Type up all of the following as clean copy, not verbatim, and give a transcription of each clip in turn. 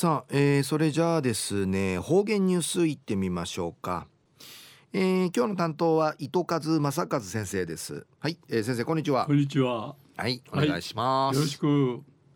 さあ、それじゃあですね、方言ニュースいってみましょうか。今日の担当は糸数正和先生です。はい、先生こんにちは。 こんにちは。 はい、おはい、 願いしまよろしす。 く。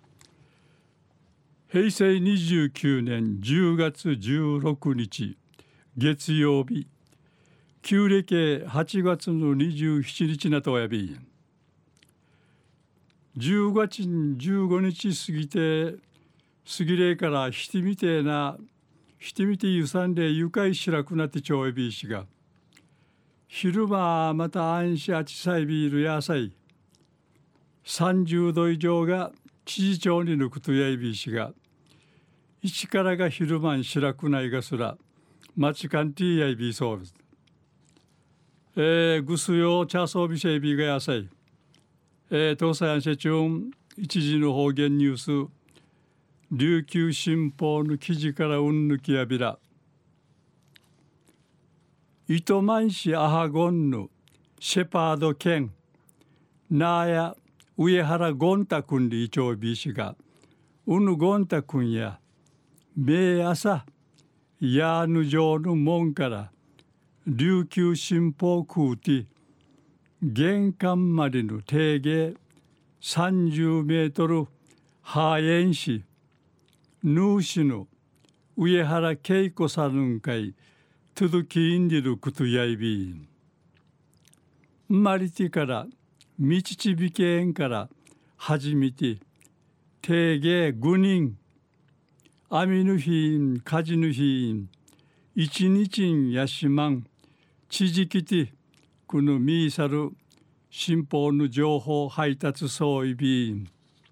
平成29年10月16日月曜日、旧暦8月の27日なとおやび、10月15日過ぎて過ぎれからひてみてえなひてみてゆさんで愉快しらくなってちょうやびいしが、昼間また安心あちさいビールやさい30度以上が知事町に抜くとやいびいしが、一からが昼間にしらくないがすら町かんてぃやいびいそうです。ぐすよ茶そうびしゃいびがやさい。東西安社中一時の方言ニュース、琉球新報の記事からうんぬきやびら。糸満市アハゴンヌシェパード県ナーヤ上原ゴンタ君でいちょうびしが、うぬゴンタ君やめ朝やぬ城の門から琉球新報空て玄関までの定芸30メートルハエン市ヌーシの上原恵子さんかいとどきんでることやいびん。まりてからみちちびけんから始めて定芸5人網の日ん火事の日ん一日んやしまん地時きてこのミーサル新報の情報配達総意びん。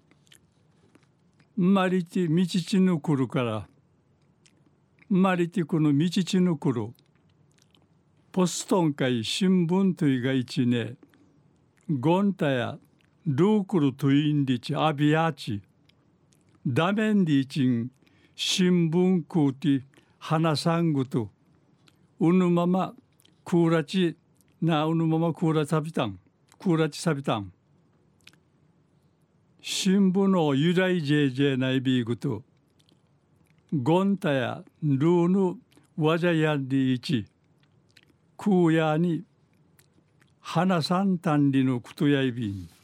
まりてみちちのくるからまりてこのみちちのくるポストン会新聞といが一ねゴンタやルークルといんりちアビアチダメンディチン新聞クーティ花さんぐとうぬままクーラチなうぬままクーラサビタンクーラチサビタン新聞の由来ジェジェナイビーグとゴンタやルーヌワジャヤンディイチクーヤに花さんたんりのくとやいびん。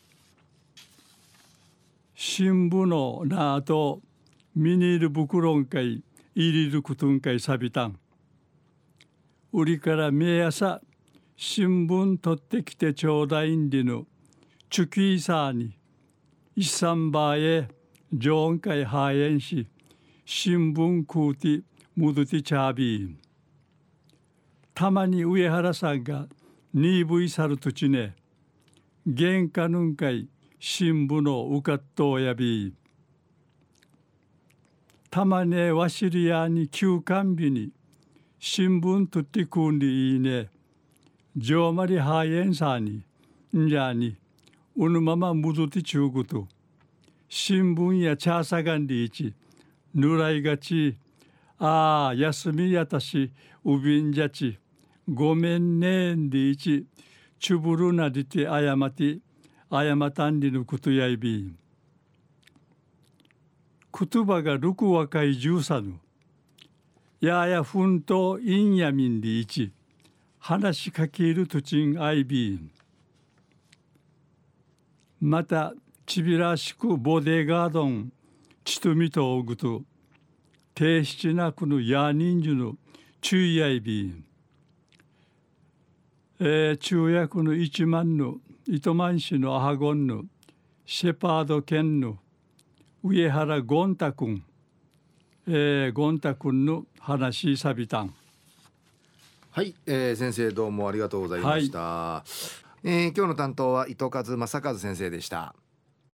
新聞のなあとミニールブクロンかい入りるくとんかいさびたん。売りからめ朝新聞取ってきてちょうだいんりのチュキーサーに一三バーへ常温会ハエンし新聞クーティムドティチャービーン。たまに上原さんがニーブイサルトチネ玄関ぬんかい新聞のうかっとやびたまねわしりやに休館日に新聞とってくんりいいねじょうまりはえんさにんじゃにうぬままむどてちゅうこと新聞や茶さがんりいちぬらいがちああ休みやたしうびんじゃちごめんねんでいちちゅぶるなりてあやまたんりのことやいびん。言葉がるく若い十さぬややふんといんやみんでいち話しかけるとちんあいびん。またちびらしくボディガードンちとみとおぐとてしちなくのやにんじゅの注意やいびん。中役の一万の糸満市のアハゴンのシェパード県の上原ゴンタ君、ゴンタ君の話さびたん。 はい、先生どうもありがとうございました。今日の担当は糸数正和先生でした。